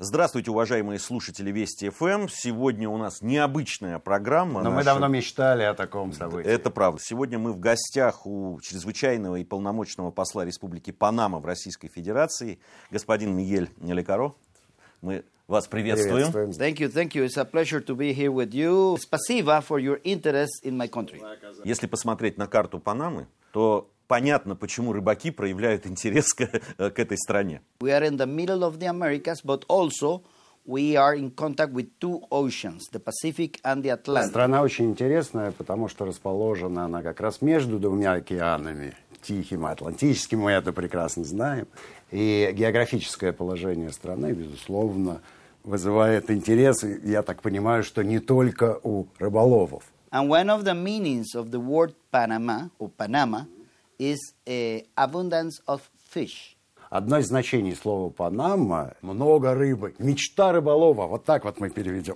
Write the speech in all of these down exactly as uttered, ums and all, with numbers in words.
Здравствуйте, уважаемые слушатели Вести эф эм. Сегодня у нас необычная программа. Но наша... мы давно мечтали о таком событии. Это правда. Сегодня мы в гостях у чрезвычайного и полномочного посла Республики Панама в Российской Федерации, господин Мигель Лекаро. Мы вас приветствуем. приветствуем. Thank you, thank you. It's a pleasure to be here with you. Спасибо for your interest in my country. Если посмотреть на карту Панамы, то понятно, почему рыбаки проявляют интерес к, к этой стране. We are in the middle of the Americas, but also we are in contact with two oceans, the Pacific and the Atlantic. Страна очень интересная, потому что расположена она как раз между двумя океанами, Тихим и Атлантическим, мы это прекрасно знаем. И географическое положение страны, безусловно, вызывает интерес, я так понимаю, что не только у рыболовов. And one of the meanings of the word Panama, or Panama, is a abundance of fish. Одно из значений слова «Панама» – много рыбы, мечта рыболова. Вот так вот мы переведем.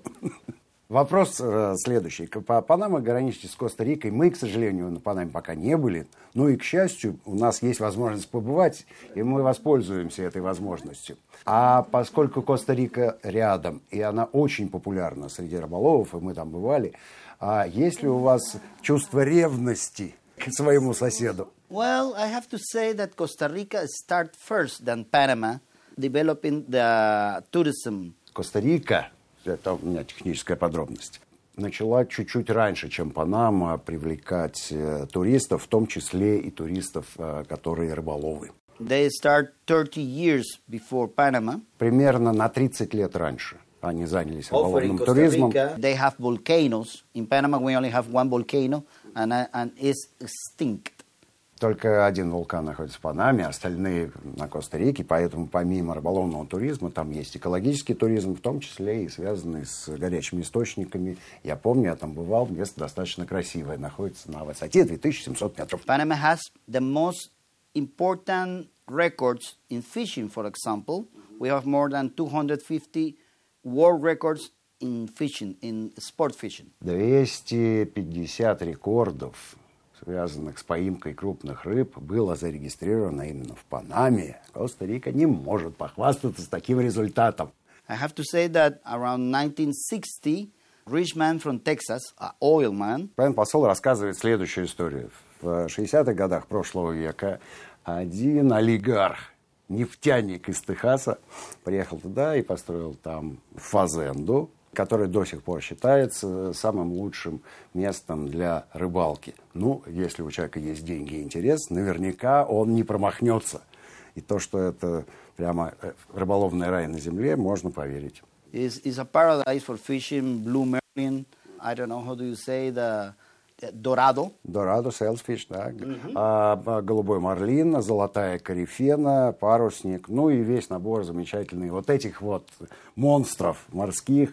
Вопрос э, следующий. Панама граничит с Коста-Рикой. Мы, к сожалению, на Панаме пока не были. Ну и, к счастью, у нас есть возможность побывать, и мы воспользуемся этой возможностью. А поскольку Коста-Рика рядом, и она очень популярна среди рыболовов, и мы там бывали, а есть ли у вас чувство ревности к своему соседу? Well, I have to say that Costa Rica started first than Panama, developing the tourism. Коста-Рика, это у меня техническая подробность, начала чуть-чуть раньше, чем Панама, привлекать э, туристов, в том числе и туристов, э, которые рыболовы. They start thirty years before Panama. Примерно на тридцать лет раньше они занялись рыболовным туризмом. They have volcanoes. In Panama we only have one volcano, and, and it's extinct. Только один вулкан находится в Панаме, остальные на Коста-Рике, поэтому помимо рыболовного туризма там есть экологический туризм, в том числе и связанный с горячими источниками. Я помню, я там бывал, место достаточно красивое, находится на высоте две тысячи семьсот метров. Panama has the most important records in fishing, for example. We have more than two hundred fifty world records in fishing, in sport fishing. двести пятьдесят рекордов, связанных с поимкой крупных рыб, было зарегистрировано именно в Панаме. Коста-Рика не может похвастаться с таким результатом. I have to say that around nineteen sixty, rich man from Texas, an oil man. Господин посол рассказывает следующую историю. В шестидесятых годах прошлого века один олигарх, нефтяник из Техаса, приехал туда и построил там фазенду, который до сих пор считается самым лучшим местом для рыбалки. Ну, если у человека есть деньги и интерес, наверняка он не промахнется. И то, что это прямо рыболовный рай на земле, можно поверить. It's, it's a paradise for fishing, blue marlin, I don't know how do you say, the dorado. Dorado, sailfish, да. Mm-hmm. А, голубой марлин, золотая корифена, парусник, ну и весь набор замечательный вот этих вот монстров морских,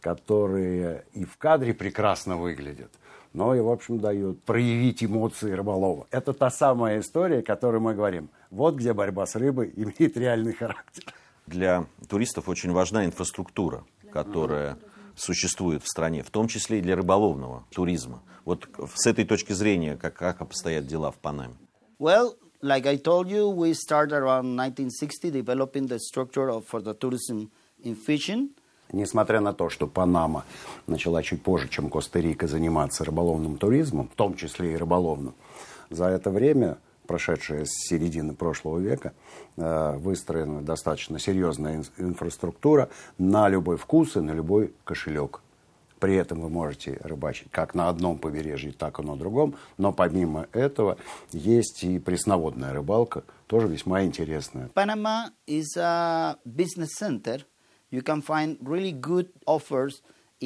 которые и в кадре прекрасно выглядят, но и, в общем, дают проявить эмоции рыболова. Это та самая история, о которой мы говорим. Вот где борьба с рыбой имеет реальный характер. Для туристов очень важна инфраструктура, которая существует в стране, в том числе и для рыболовного туризма. Вот с этой точки зрения, как, как обстоят дела в Панаме? Well, like I told you, we started around nineteen sixty developing the structure of, for the tourism in fishing. Несмотря на то, что Панама начала чуть позже, чем Коста-Рика, заниматься рыболовным туризмом, в том числе и рыболовным, за это время, прошедшее с середины прошлого века, выстроена достаточно серьезная инфраструктура на любой вкус и на любой кошелек. При этом вы можете рыбачить как на одном побережье, так и на другом, но помимо этого есть и пресноводная рыбалка, тоже весьма интересная. Panama is a business center. You can find really good offers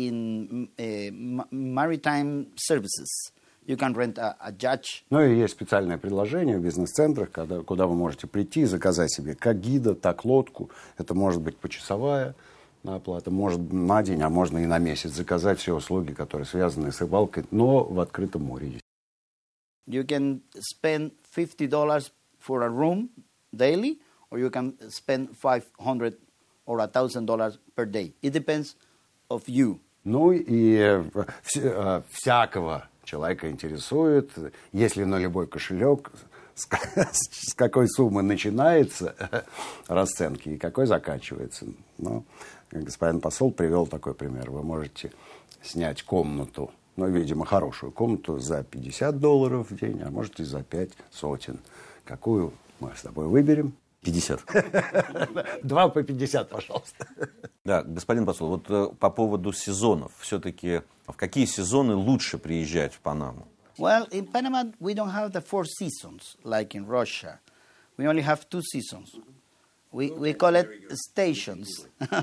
in uh, maritime services. You can rent a, a yacht. Ну и есть специальное предложение в бизнес-центрах, когда, куда вы можете прийти и заказать себе как гида, так лодку. Это может быть почасовая оплата, может на день, а можно и на месяц заказать все услуги, которые связаны с рыбалкой, но в открытом море. You can spend fifty dollars for a room daily, or you can spend five hundred or a thousand dollars per day. It depends of you. Ну и всякого человека интересует, если на любой кошелек, с, с какой суммы начинается расценки и какой заканчивается. Но господин посол привел такой пример. Вы можете снять комнату, ну, видимо, хорошую комнату за пятьдесят долларов в день, а можете за пять сотен. Какую мы с тобой выберем? пятьдесят. Два по пятьдесят, пожалуйста. Да, господин посол, вот э, по поводу сезонов. Все-таки в какие сезоны лучше приезжать в Панаму? Well, in Panama, we don't have the four seasons like in Russia. We only have two seasons. We, we call it stations.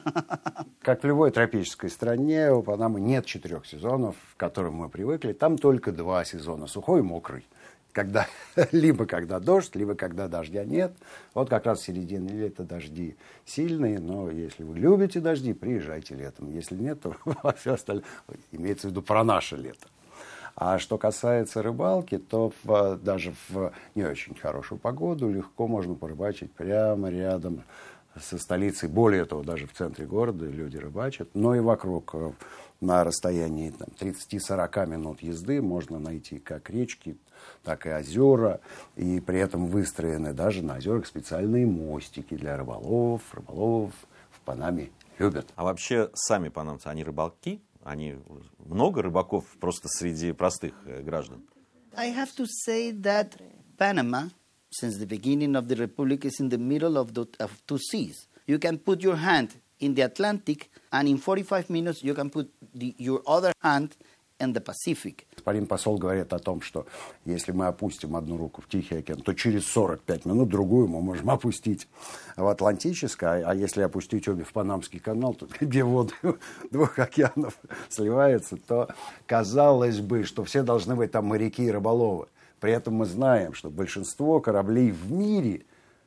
Как в любой тропической стране, у Панамы нет четырех сезонов, к которым мы привыкли. Там только два сезона, сухой и мокрый. Когда, либо когда дождь, либо когда дождя нет. Вот как раз в середине лета дожди сильные, но если вы любите дожди, приезжайте летом. Если нет, то все остальное имеется в виду про наше лето. А что касается рыбалки, то в, даже в не очень хорошую погоду легко можно порыбачить прямо рядом со столицей. Более того, даже в центре города люди рыбачат. Но и вокруг, на расстоянии там, тридцать-сорок минут езды, можно найти как речки, так и озера. И при этом выстроены даже на озерах специальные мостики для рыболовов. Рыболовов в Панаме любят. А вообще сами панамцы, они рыбалки? Они много рыбаков просто среди простых граждан? I have to say that Panama, since the beginning of the Republic, is in the middle of, the, of two seas. You can put your hand in the Atlantic, and in forty-five minutes you can put the, your other hand in the Pacific. Господин посол говорит о том, что если мы опустим одну руку в Тихий океан, то через сорок пять минут другую мы можем опустить в Атлантический, а если опустить обе в Панамский канал, то, где воды двух океанов сливаются, то казалось бы, что все должны быть там моряки и рыболовы. При этом мы знаем, что большинство кораблей в мире,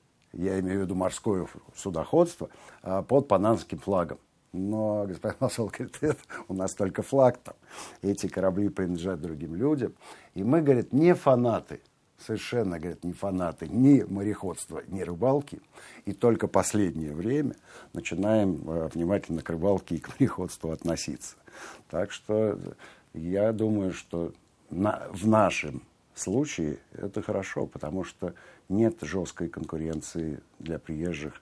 я имею в виду морское судоходство, под панамским флагом. Но господин посол говорит, это у нас только флаг там. Эти корабли принадлежат другим людям. И мы, говорит, не фанаты, совершенно, говорит, не фанаты ни мореходства, ни рыбалки. И только последнее время начинаем э, внимательно к рыбалке и к мореходству относиться. Так что я думаю, что на, в нашем случае это хорошо, потому что нет жесткой конкуренции для приезжих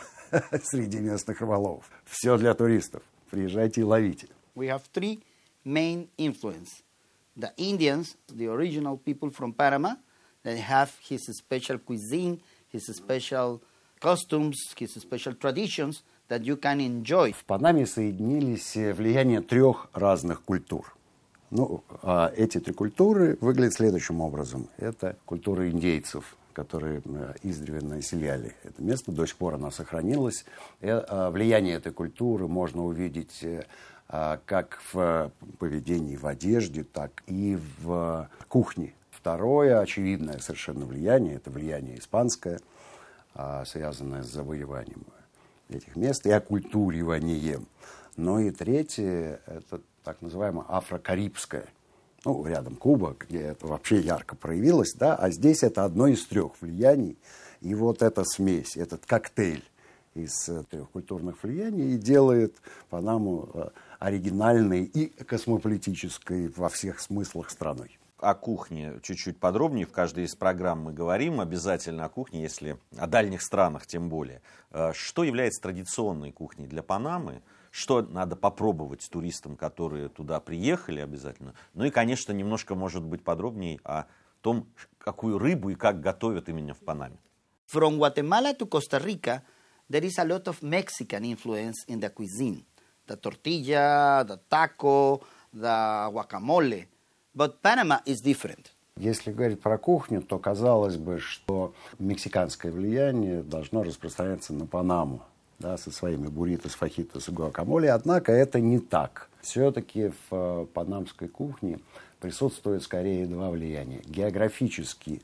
среди местных рыболовов. Все для туристов. Приезжайте и ловите. We have three main influences. The Indians, the original people from Panama, that have his special cuisine, his special costumes, his special traditions that you can enjoy. В Панаме соединились влияния трех разных культур. Ну, а эти три культуры выглядят следующим образом. Это культура индейцев, которые издревле населяли это место. До сих пор она сохранилась. И, а, влияние этой культуры можно увидеть а, как в поведении, в одежде, так и в кухне. Второе, очевидное совершенно влияние, это влияние испанское, а, связанное с завоеванием этих мест и оккультуриванием. Ну и третье, это так называемое афрокарибское. Ну, рядом Куба, где это вообще ярко проявилось, да, а здесь это одно из трех влияний. И вот эта смесь, этот коктейль из трех культурных влияний и делает Панаму оригинальной и космополитической во всех смыслах страной. О кухне чуть-чуть подробнее. В каждой из программ мы говорим обязательно о кухне, если о дальних странах тем более. Что является традиционной кухней для Панамы? Что надо попробовать туристам, которые туда приехали обязательно? Ну и, конечно, немножко, может быть, подробнее о том, какую рыбу и как готовят именно в Панаме. From Guatemala to Costa Rica, there is a lot of Mexican influence in the cuisine. The tortilla, the taco, the guacamole. But Panama is different. Если говорить про кухню, то казалось бы, что мексиканское влияние должно распространяться на Панаму. Да, со своими бурритос, фахитос и гуакамоле. Однако это не так. Все-таки в э, панамской кухне присутствует скорее два влияния. Географически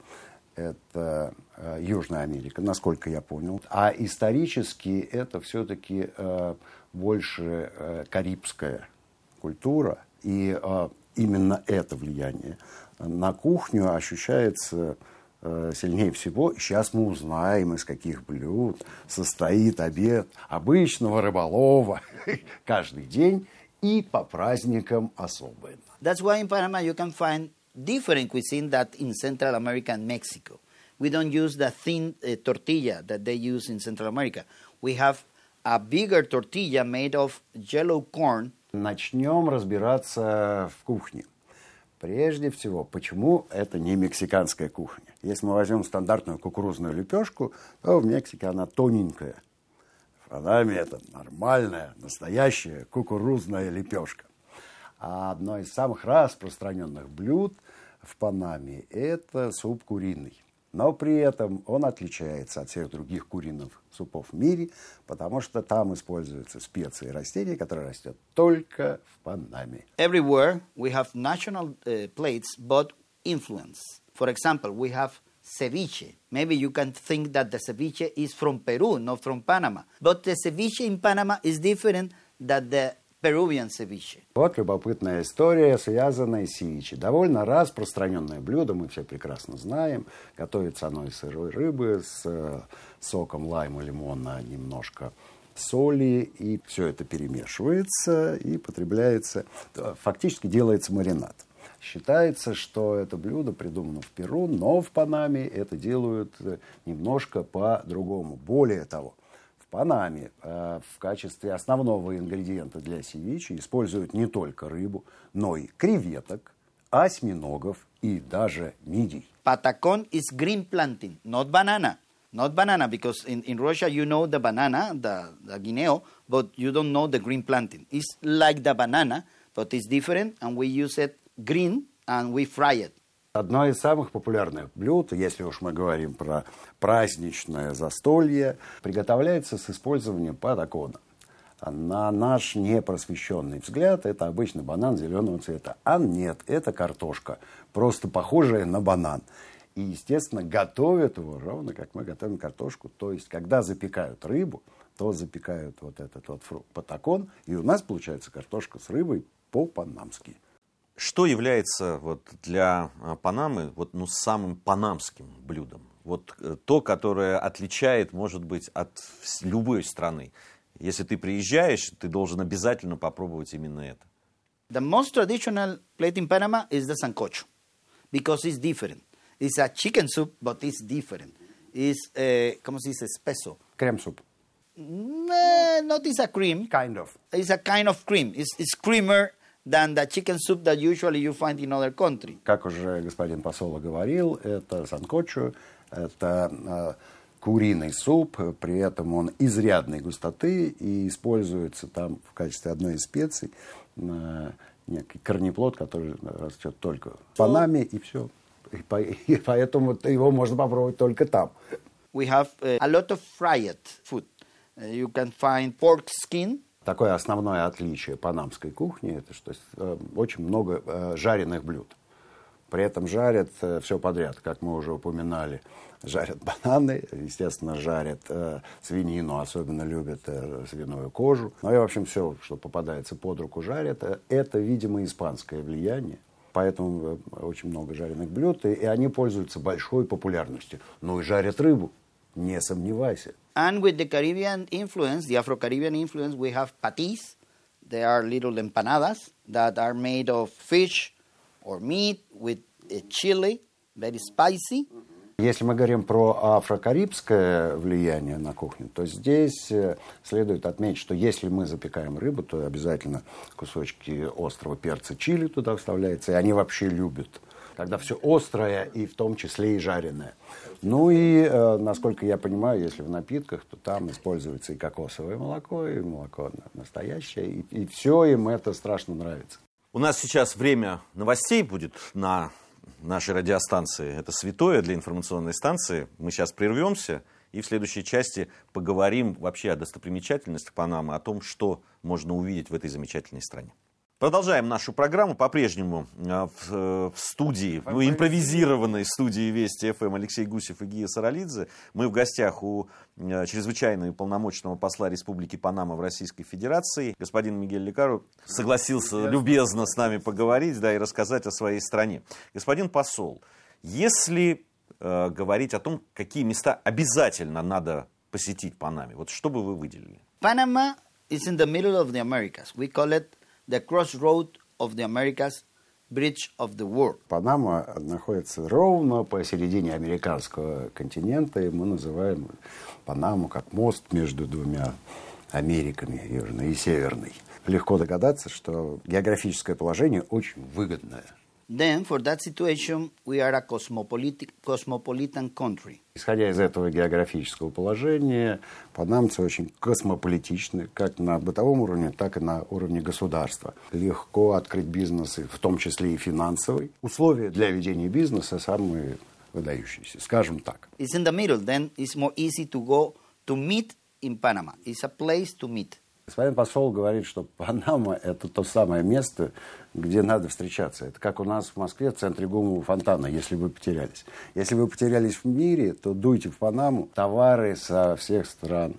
это э, Южная Америка, насколько я понял. А исторически это все-таки э, больше э, карибская культура. И э, именно это влияние на кухню ощущается сильнее всего. Сейчас мы узнаем, из каких блюд состоит обед обычного рыболова каждый день и по праздникам особенно. That's why in Panama you can find different cuisine than in Central America and Mexico. we don't use the thin uh, tortilla that they use in Central America. We have a bigger tortilla made of yellow corn. Начнем разбираться в кухне. Прежде всего, почему это не мексиканская кухня? Если мы возьмем стандартную кукурузную лепешку, то в Мексике она тоненькая. В Панаме это нормальная, настоящая кукурузная лепешка. А одно из самых распространенных блюд в Панаме – это суп куриный. Но при этом он отличается от всех других куриных супов в мире, потому что там используются специи и растения, которые растут только в Панаме. Everywhere we have national uh, plates, but influence. For example, we have ceviche. Maybe you can think that the ceviche is from Peru, not from Panama. But the ceviche in Panama is different than the Peruvian ceviche. Вот любопытная история, связанная с севиче. Довольно распространенное блюдо, мы все прекрасно знаем. Готовится оно из сырой рыбы с э, соком лайма, лимона, немножко соли. И все это перемешивается и потребляется. Фактически делается маринад. Считается, что это блюдо придумано в Перу, но в Панаме это делают немножко по-другому. Более того, в Панаме э, в качестве основного ингредиента для севиче используют не только рыбу, но и креветок, осьминогов и даже мидий. Patacón is green planting, not banana. Not banana, because in, in Russia you know the banana, the, the guineo, but you don't know the green planting. It's like the banana, but it's different, and we use it green, and we fry it. Одно из самых популярных блюд, если уж мы говорим про праздничное застолье, приготовляется с использованием патакона. На наш непросвещенный взгляд, это обычно банан зеленого цвета. А нет, это картошка, просто похожая на банан. И, естественно, готовят его ровно, как мы готовим картошку. То есть, когда запекают рыбу, то запекают вот этот вот фрукт патакон, и у нас получается картошка с рыбой по-панамски. Что является вот для Панамы вот, ну, самым панамским блюдом? Вот то, которое отличает, может быть, от любой страны. Если ты приезжаешь, ты должен обязательно попробовать именно это. The most traditional plate in Panama is the sancocho, because it's different. It's a chicken soup, but it's different. It's, uh, ¿cómo se dice? Espeso. Крем-суп. No, not it's a cream. Kind of. It's a kind of cream. It's, it's creamer than the chicken soup that usually you find in other countries. Как уже господин посол говорил, это санкочо, это э, куриный суп, при этом он изрядной густоты и используется там в качестве одной из специй э, некий корнеплод, который растет только в Панаме, и все. И, по, и поэтому его можно попробовать только там. We have uh, a lot of fried food. Uh, you can find pork skin. Такое основное отличие панамской кухни, это что э, очень много э, жареных блюд. При этом жарят э, все подряд, как мы уже упоминали. Жарят бананы, естественно, жарят э, свинину, особенно любят э, свиную кожу. Ну и, в общем, все, что попадается под руку, жарят. Это, видимо, испанское влияние. Поэтому э, очень много жареных блюд, и, и они пользуются большой популярностью. Ну и жарят рыбу, не сомневайся. And with the Caribbean influence, the Afro-Caribbean influence, we have patis. They are little empanadas that are made of fish or meat with a chili, very spicy. Если мы говорим про афро-карибское влияние на кухню, то здесь следует отметить, что если мы запекаем рыбу, то обязательно кусочки острого перца чили туда вставляются, и они вообще любят, когда все острое и в том числе и жареное. Ну и, э, насколько я понимаю, если в напитках, то там используется и кокосовое молоко, и молоко настоящее, и, и все им это страшно нравится. У нас сейчас время новостей будет на нашей радиостанции. Это святое для информационной станции. Мы сейчас прервемся и в следующей части поговорим вообще о достопримечательностях Панамы, о том, что можно увидеть в этой замечательной стране. Продолжаем нашу программу. По-прежнему в, в студии, в импровизированной студии Вести эф эм Алексей Гусев и Гия Саралидзе. Мы в гостях у чрезвычайного и полномочного посла Республики Панама в Российской Федерации. Господин Мигель Лекаро согласился любезно с нами поговорить, да, и рассказать о своей стране. Господин посол, если э, говорить о том, какие места обязательно надо посетить Панаме, вот что бы вы выделили? Panama is in the middle of the Americas. We call it the crossroad of the Americas bridge of the world. Панама находится ровно посередине американского континента, и мы называем Панаму как мост между двумя Америками, южной и северной. Легко догадаться, что географическое положение очень выгодное. Then, for that situation, we are a cosmopolitan, cosmopolitan country. Исходя из этого географического положения, панамцы очень космополитичны, как на бытовом уровне, так и на уровне государства. Легко открыть бизнес, в том числе и финансовый. Условия для ведения бизнеса самые выдающиеся, скажем так. It's in the middle, then it's more easy to go to meet in Panama. It's a place to meet. Господин посол говорит, что Панама – это то самое место, где надо встречаться. Это как у нас в Москве в центре ГУМа фонтана, если вы потерялись. Если вы потерялись в мире, то дуйте в Панаму. Товары со всех стран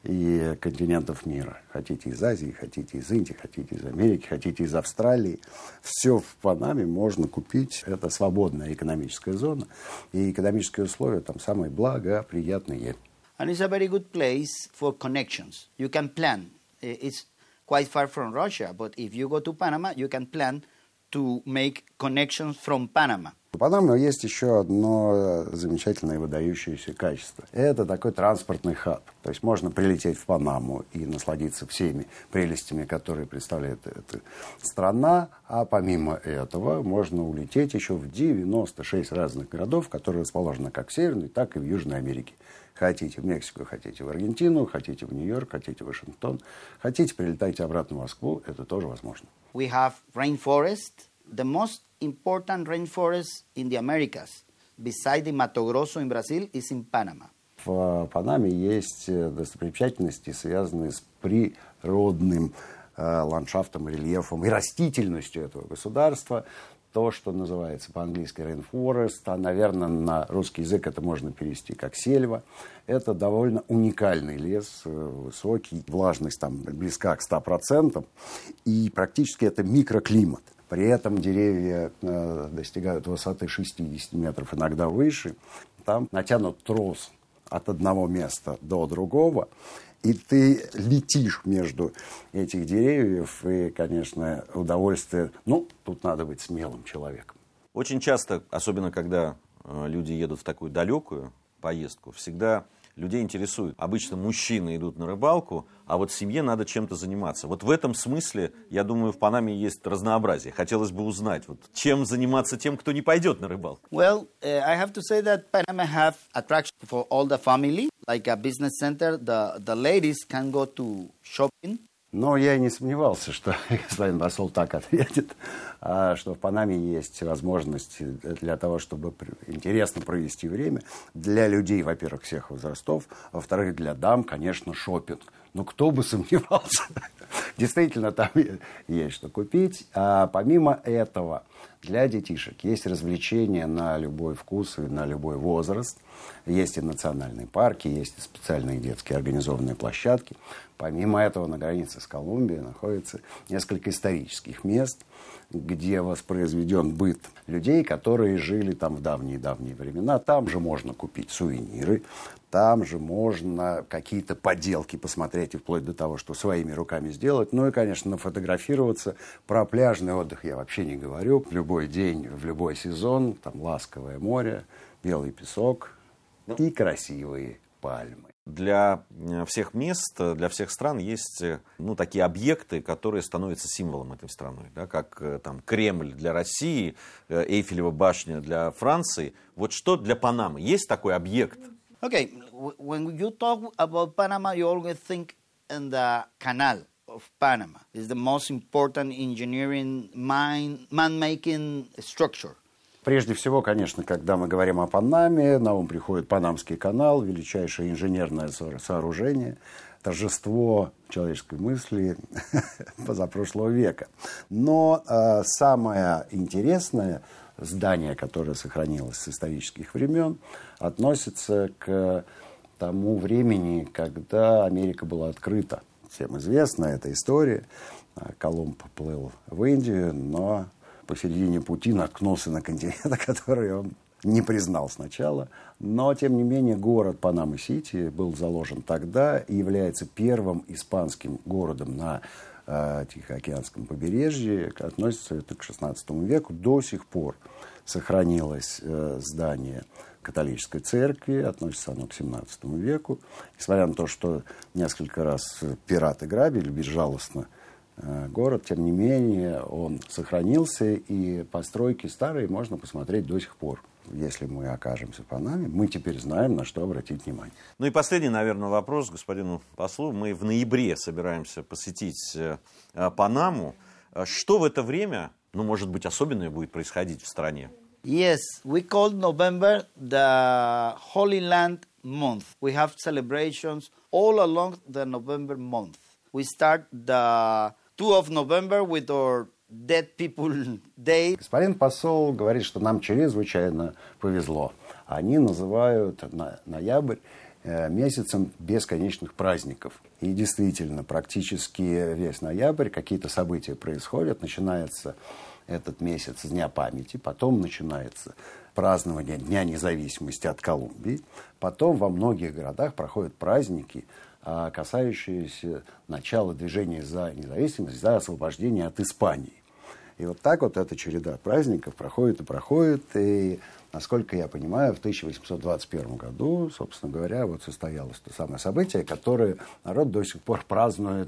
и континентов мира. Хотите из Азии, хотите из Индии, хотите из Америки, хотите из Австралии. Все в Панаме можно купить. Это свободная экономическая зона. И экономические условия там самые благоприятные. And it's a very good place for connections. You can plan. It's quite far from Russia, but if you go to Panama, you can plan to make connections from Panama. У Панамы есть еще одно замечательное и выдающееся качество. Это такой транспортный хаб. То есть можно прилететь в Панаму и насладиться всеми прелестями, которые представляет эта страна. А помимо этого можно улететь еще в девяносто шесть разных городов, которые расположены как в Северной, так и в Южной Америке. Хотите в Мексику, хотите в Аргентину, хотите в Нью-Йорк, хотите в Вашингтон. Хотите, прилетайте обратно в Москву, это тоже возможно. We have rainforest, the most important rainforest in the Americas, beside the Mato Grosso in Brazil, is in Panama. В Панаме есть достопримечательности, связанные с природным э, ландшафтом, рельефом и растительностью этого государства. То, что называется по-английски rainforest, а, наверное, на русский язык это можно перевести как сельва. Это довольно уникальный лес, высокий, влажность там близка к ста процентам, и практически это микроклимат. При этом деревья э, достигают высоты шестьдесят метров, иногда выше. Там натянут трос от одного места до другого, и ты летишь между этих деревьев, и, конечно, удовольствие... Ну, тут надо быть смелым человеком. Очень часто, особенно когда э, люди едут в такую далекую поездку, всегда людей интересует. Обычно мужчины идут на рыбалку, а вот семье надо чем-то заниматься. Вот в этом смысле, я думаю, в Панаме есть разнообразие. Хотелось бы узнать, вот, чем заниматься тем, кто не пойдет на рыбалку. Well, uh, I have to say that Panama have attraction for all the family, like a business center. The, the ladies can go to shopping. Но я и не сомневался, что господин посол так ответит, что в Панаме есть возможности для того, чтобы интересно провести время. Для людей, во-первых, всех возрастов, а во-вторых, для дам, конечно, шопинг. Но кто бы сомневался. Действительно, там есть что купить. А помимо этого, для детишек есть развлечения на любой вкус и на любой возраст. Есть и национальные парки, есть и специальные детские организованные площадки. Помимо этого, на границе с Колумбией находится несколько исторических мест, где воспроизведен быт людей, которые жили там в давние-давние времена. Там же можно купить сувениры, там же можно какие-то поделки посмотреть, и вплоть до того, что своими руками сделать. Ну и, конечно, нафотографироваться. Про пляжный отдых я вообще не говорю. В любой день, в любой сезон, там ласковое море, белый песок и красивые пальмы. Для всех мест, для всех стран есть, ну, такие объекты, которые становятся символом этой страны, да, как там Кремль для России, Эйфелева башня для Франции. Вот что для Панамы? Есть такой объект? Okay, when you talk about Panama, you always think in the canal of Panama. It's the most important engineering, mine, man-making structure. Прежде всего, конечно, когда мы говорим о Панаме, на ум приходит Панамский канал, величайшее инженерное сооружение, торжество человеческой мысли позапрошлого века. Но э, самое интересное здание, которое сохранилось с исторических времен, относится к тому времени, когда Америка была открыта. Всем известна эта история. Колумб плыл в Индию, но посередине пути наткнулся на континент, который он не признал сначала. Но, тем не менее, город Панама-Сити был заложен тогда и является первым испанским городом на э, Тихоокеанском побережье, относится это к шестнадцатому веку. До сих пор сохранилось э, здание католической церкви, относится оно к семнадцатому веку. Несмотря на то, что несколько раз пираты грабили безжалостно э, город, тем не менее он сохранился, и постройки старые можно посмотреть до сих пор. Если мы окажемся в Панаме, мы теперь знаем, на что обратить внимание. Ну и последний, наверное, вопрос господину послу. Мы в ноябре собираемся посетить э, Панаму. Что в это время, ну, может быть, особенное будет происходить в стране? Yes, we call November the Holy Land month. We have celebrations all along the November month. We start the second of November with our Dead People Day. Господин посол говорит, что нам чрезвычайно повезло. Они называют ноябрь месяцем бесконечных праздников. И действительно, практически весь ноябрь какие-то события происходят. Начинается этот месяц с Дня памяти, потом начинается празднование Дня независимости от Колумбии. Потом во многих городах проходят праздники, касающиеся начала движения за независимость, за освобождение от Испании. И вот так вот эта череда праздников проходит и проходит. И, насколько я понимаю, в тысяча восемьсот двадцать первом году, собственно говоря, вот состоялось то самое событие, которое народ до сих пор празднует.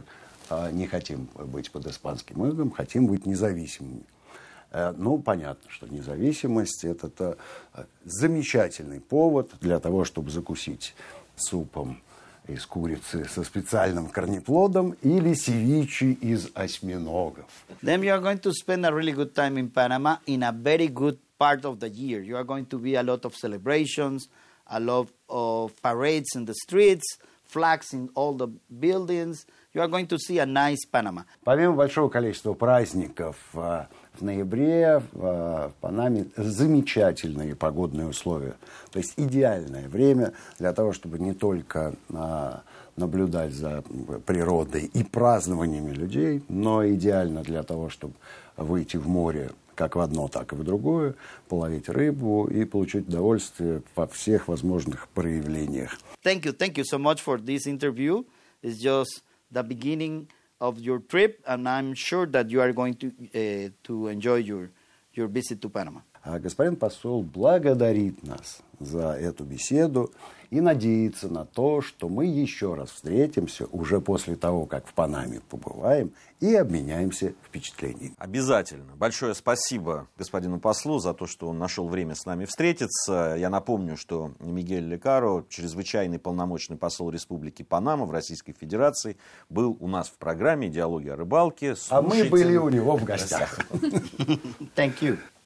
Не хотим быть под испанским игом, хотим быть независимыми. Ну, понятно, что независимость – это замечательный повод для того, чтобы закусить супом из курицы со специальным корнеплодом или севичи из осьминогов. Then you are going to spend a really good time in Panama in a very good part of the year. You are going to be a lot of celebrations, a lot of parades in the streets, flags in all the buildings. You are going to see a nice Panama. Помимо большого количества праздников, в ноябре в Панаме замечательные погодные условия. То есть идеальное время для того, чтобы не только наблюдать за природой и празднованиями людей, но идеально для того, чтобы выйти в море как в одно, так и в другое, половить рыбу и получить удовольствие во всех возможных проявлениях. Thank you, thank you so much for this interview. It's just the beginning of your trip, and I'm sure that you are going to uh, to enjoy your your visit to Panama. А господин посол благодарит нас за эту беседу и надеется на то, что мы еще раз встретимся уже после того, как в Панаме побываем, и обменяемся впечатлениями. Обязательно. Большое спасибо господину послу за то, что он нашел время с нами встретиться. Я напомню, что Мигель Лекаро, чрезвычайный полномочный посол Республики Панама в Российской Федерации, был у нас в программе «Диалоги о рыбалке». А мы были у него в гостях. Thank you.